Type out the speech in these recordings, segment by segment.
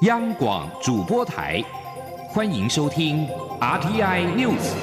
央广主播台，欢迎收听 RTI News。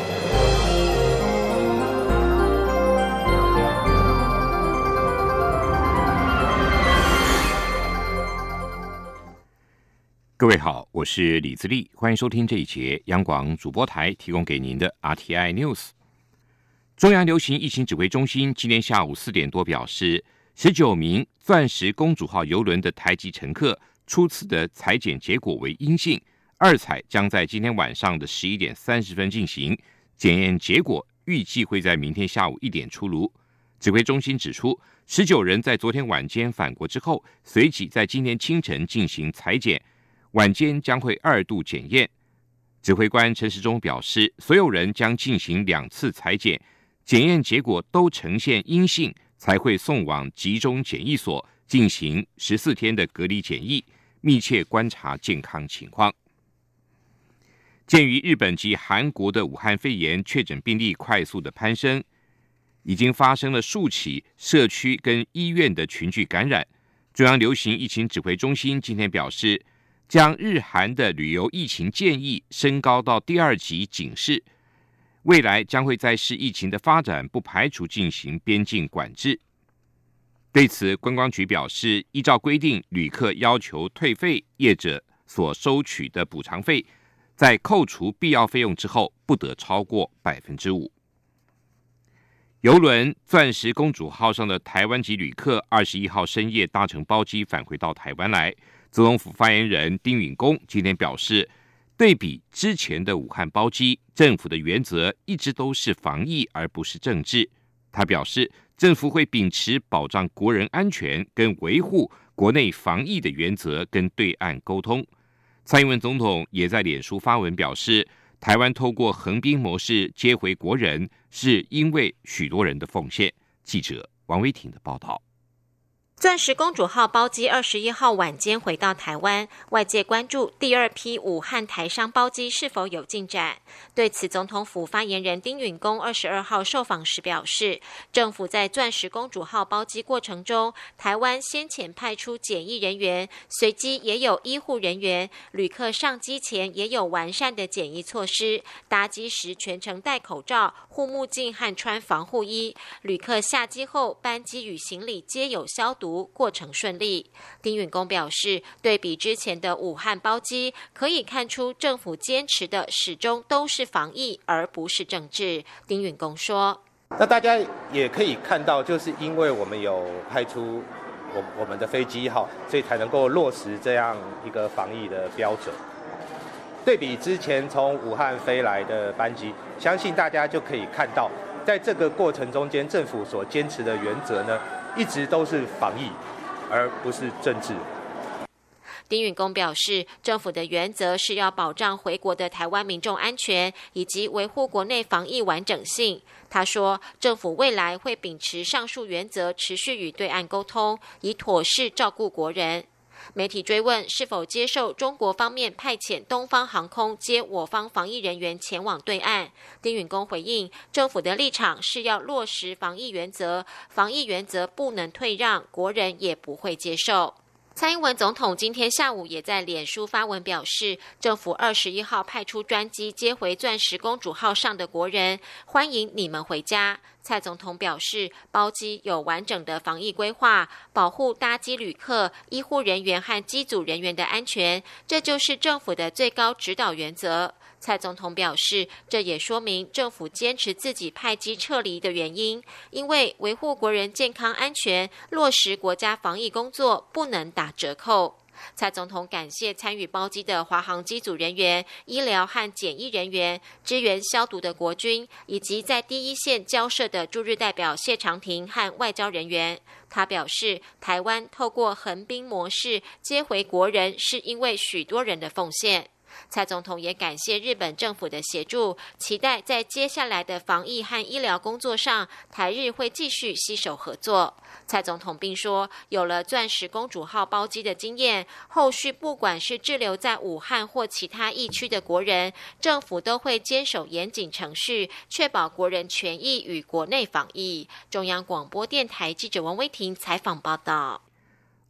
各位好，我是李自立，欢迎收听这一节央广主播台提供给您的 RTI News。中央流行疫情指挥中心今天下午4点多表示，19名钻石公主号邮轮的台籍乘客初次的采检结果为阴性，二采将在今天晚上的11点30分进行，检验结果预计会在明天下午1点出炉。指挥中心指出，19人在昨天晚间返国之后，随即在今天清晨进行采检，晚间将会2度检验。指挥官陈时中表示，所有人将进行2次采检，检验结果都呈现阴性，才会送往集中检疫所进行14天的隔离检疫，密切观察健康情况。鉴于日本及韩国的武汉肺炎确诊病例快速的攀升，已经发生了数起社区跟医院的群聚感染，中央流行疫情指挥中心今天表示，将日韩的旅游疫情建议升高到第2级警示，未来将会在视疫情的发展，不排除进行边境管制。对此，观光局表示，依照规定，旅客要求退费，业者所收取的补偿费，在扣除必要费用之后，不得超过5%。邮轮钻石公主号上的台湾籍旅客21号深夜搭乘包机返回到台湾来。总统府发言人丁允恭今天表示，对比之前的武汉包机，政府的原则一直都是防疫而不是政治。他表示，政府会秉持保障国人安全跟维护国内防疫的原则跟对岸沟通。蔡英文总统也在脸书发文表示，台湾透过横滨模式接回国人，是因为许多人的奉献。记者王威婷的报道。 钻石公主号包机21号晚间回到台湾，外界关注第2批武汉台商包机是否有进展。对此，总统府发言人丁允恭22号受访时表示，政府在钻石公主号包机过程中，台湾先前派出检疫人员，随机也有医护人员，旅客上机前也有完善的检疫措施，搭机时全程戴口罩、护目镜和穿防护衣，旅客下机后班机与行李皆有消毒，过程顺利。丁允恭表示，对比之前的武汉包机，可以看出政府坚持的始终都是防疫，而不是政治。丁允恭说， 那大家也可以看到，就是因为我们有派出我们的飞机号，所以才能够落实这样一个防疫的标准。对比之前从武汉飞来的班机，相信大家就可以看到，在这个过程中间，政府所坚持的原则呢，一直都是防疫，而不是政治。 丁允恭表示，政府的原则是要保障回国的台湾民众安全，以及维护国内防疫完整性。他说，政府未来会秉持上述原则，持续与对岸沟通，以妥善照顾国人。媒体追问是否接受中国方面派遣东方航空接我方防疫人员前往对岸，丁允恭回应，政府的立场是要落实防疫原则，防疫原则不能退让，国人也不会接受。蔡英文总统今天下午也在脸书发文表示，政府21号派出专机接回钻石公主号上的国人，欢迎你们回家。蔡总统表示，包机有完整的防疫规划，保护搭机旅客、医护人员和机组人员的安全，这就是政府的最高指导原则。蔡总统表示，这也说明政府坚持自己派机撤离的原因，因为维护国人健康安全，落实国家防疫工作不能打折扣。蔡总统感谢参与包机的华航机组人员、医疗和检疫人员、支援消毒的国军，以及在第一线交涉的驻日代表谢长廷和外交人员。他表示，台湾透过横滨模式接回国人，是因为许多人的奉献。蔡总统也感谢日本政府的协助，期待在接下来的防疫和医疗工作上，台日会继续携手合作。蔡总统并说，有了钻石公主号包机的经验，后续不管是滞留在武汉或其他疫区的国人，政府都会坚守严谨程序，确保国人权益与国内防疫。中央广播电台记者王威婷采访报道。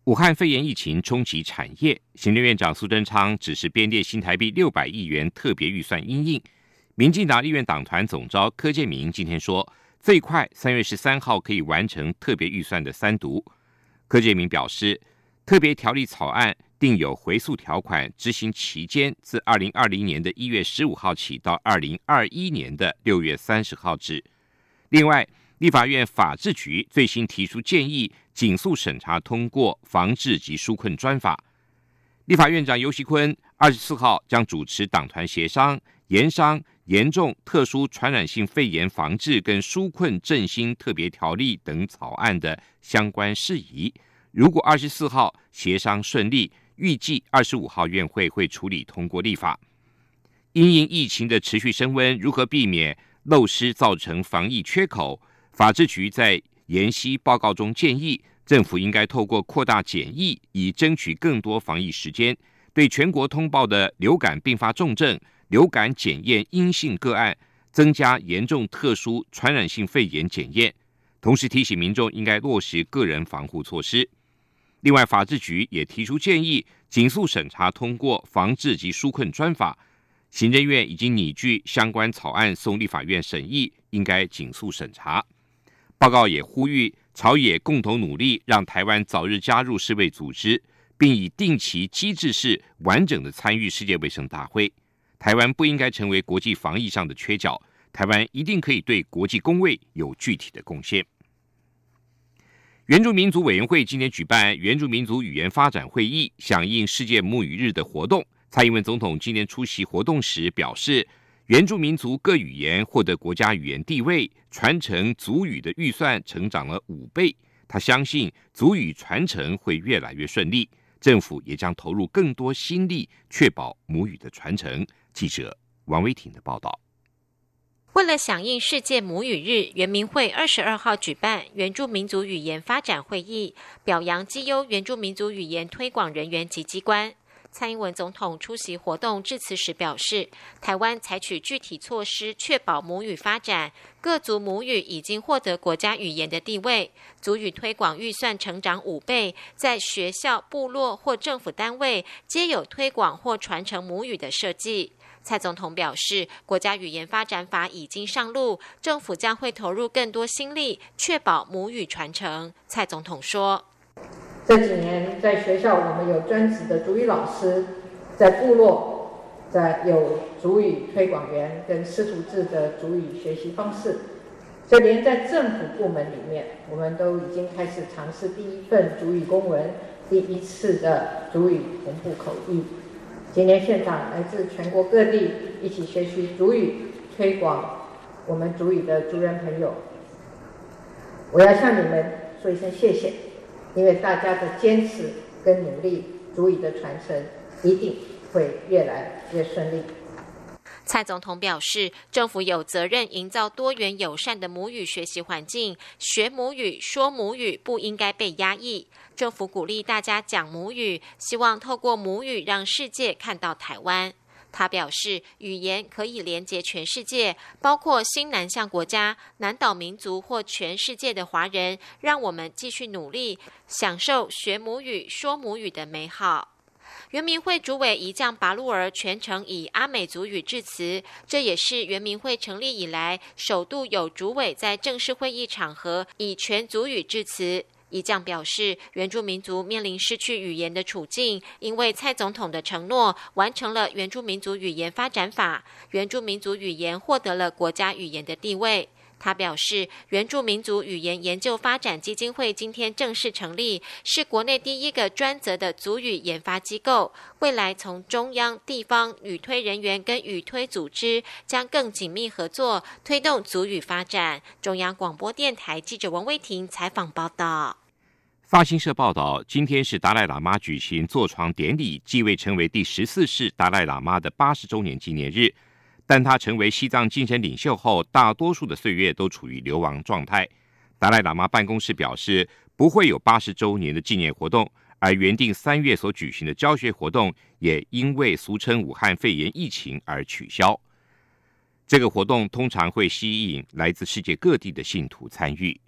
武汉肺炎疫情冲击产业，行政院长苏贞昌指示编列新台币600亿元特别预算因应。民进党立院党团总召柯建铭今天说，最快3月13号可以完成特别预算的3读。柯建铭表示，特别条例草案定有回溯条款，执行期间自2020年的1月15号起到2021年的6月30号止。另外，立法院法制局最新提出建议，紧速审查通过防治及纾困专法。立法院长游锡堃24号将主持党团协商，研商严重特殊传染性肺炎防治跟纾困振兴特别条例等草案的相关事宜。如果24号协商顺利，预计25号院会会处理通过立法。因应疫情的持续升温，如何避免漏失造成防疫缺口？法制局在研析报告中建议，政府应该透过扩大检疫，以争取更多防疫时间，对全国通报的流感并发重症、流感检验阴性个案，增加严重特殊传染性肺炎检验，同时提醒民众应该落实个人防护措施。另外，法制局也提出建议，紧速审查通过防治及纾困专法。行政院已经拟具相关草案送立法院审议，应该紧速审查。报告也呼吁朝野共同努力，让台湾早日加入世卫组织，并以定期机制式完整的参与世界卫生大会。台湾不应该成为国际防疫上的缺角，台湾一定可以对国际公卫有具体的贡献。原住民族委员会今天举办原住民族语言发展会议，响应世界母语日的活动。蔡英文总统今天出席活动时表示，原住民族各语言获得国家语言地位，传承族语的预算成长了5倍。他相信族语传承会越来越顺利，政府也将投入更多心力，确保母语的传承。记者王威婷的报道。 为了响应世界母语日，原民会22号举办原住民族语言发展会议，表扬绩优原住民族语言推广人员及机关。蔡英文总统出席活动致辞时表示，台湾采取具体措施确保母语发展，各族母语已经获得国家语言的地位，族语推广预算成长5倍，在学校、部落或政府单位皆有推广或传承母语的设计。蔡总统表示，国家语言发展法已经上路，政府将会投入更多心力，确保母语传承。蔡总统说， 这几年在学校我们有专职的族语老师，在部落有族语推广员跟师徒制的族语学习方式，就连在政府部门里面，我们都已经开始尝试第一份族语公文，第一次的族语同步口译。今年现场来自全国各地一起学习族语，推广我们族语的族人朋友，我要向你们说一声谢谢，因为大家的坚持跟努力，族语的传承一定会越来越顺利。 蔡总统表示，政府有责任营造多元友善的母语学习环境，学母语、说母语不应该被压抑。政府鼓励大家讲母语，希望透过母语让世界看到台湾。他表示，语言可以连结全世界，包括新南向国家、南岛民族或全世界的华人，让我们继续努力，享受学母语、说母语的美好。原民会主委仪将拔路儿全程以阿美族语致辞，这也是原民会成立以来首度有主委在正式会议场合以全族语致辞。仪将表示，原住民族面临失去语言的处境，因为蔡总统的承诺，完成了原住民族语言发展法，原住民族语言获得了国家语言的地位。他表示，原住民族语言研究发展基金会今天正式成立，是国内第一个专责的族语研发机构。未来从中央、地方语推人员跟语推组织将更紧密合作，推动族语发展。中央广播电台记者王威婷采访报道。 法新社报道，今天是达赖喇嘛举行坐床典礼，继位成为第14世达赖喇嘛的80周年纪念日。但他成为西藏精神领袖后，大多数的岁月都处于流亡状态。达赖喇嘛办公室表示，不会有80周年的纪念活动，而原定3月所举行的教学活动，也因为俗称武汉肺炎疫情而取消。这个活动通常会吸引来自世界各地的信徒参与。